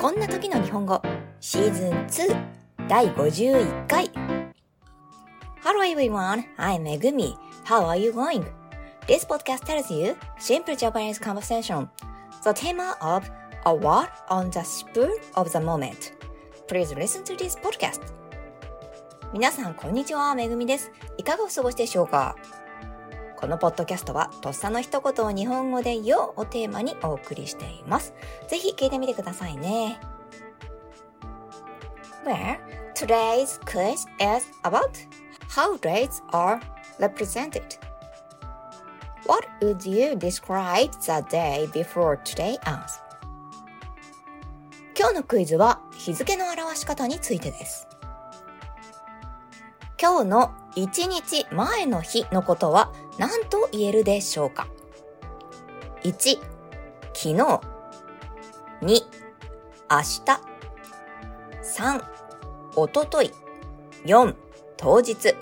こんな時の日本語シーズン2第51回 Hello everyone, I'm Megumi. How are you going? This podcast tells you simple Japanese conversation. The theme of a word on the spur of the moment. Please listen to this podcast. 皆さんこんにちは、めぐみです。いかがお過ごしでしょうか？このポッドキャストはとっさの一言を日本語でよをテーマにお送りしています。ぜひ聞いてみてくださいね。Well, today's quiz is about how dates are represented. What would you describe the day before today as? 今日のクイズは日付の表し方についてです。今日の1日前の日のことは何と言えるでしょうか？ 1. 昨日 2. 明日 3. おととい 4. 当日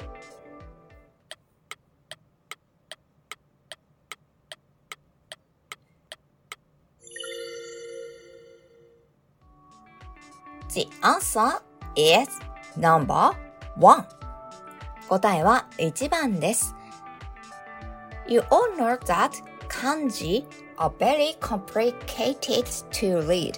The answer is number 1. 答えは1番です。You all know that kanji are very complicated to read.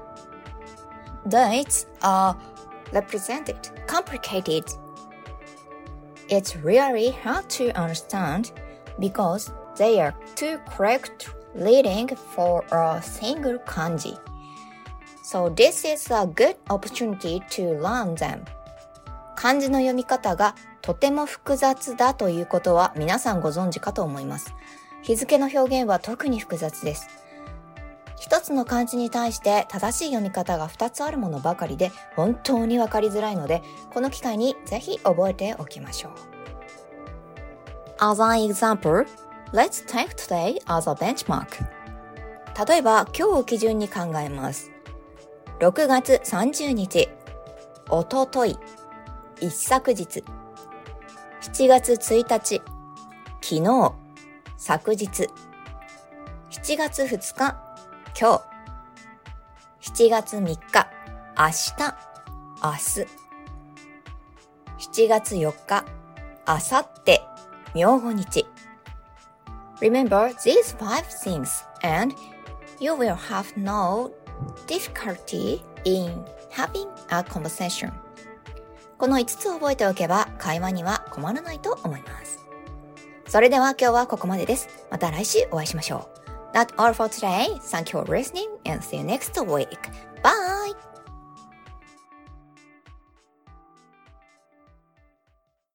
Dates are represented complicated. It's really hard to understand because they are too correct reading for a single kanji. So this is a good opportunity to learn them. 漢字の読み方がとても複雑だということは皆さんご存知かと思います。日付の表現は特に複雑です。一つの漢字に対して正しい読み方が2つあるものばかりで本当にわかりづらいので、この機会にぜひ覚えておきましょう。As an example, let's take today as a benchmark. 例えば今日を基準に考えます。6月30日、おととい、一昨日、7月1日、昨日、昨日、7月2日、今日、7月3日、明日、明日、7月4日、明後日、明後日。Remember these 5 things and you will have no difficulty in having a conversation. この5つを覚えておけば会話には困らないと思います。それでは今日はここまでです。また来週お会いしましょう。That's all for today. Thank you for listening and see you next week. Bye!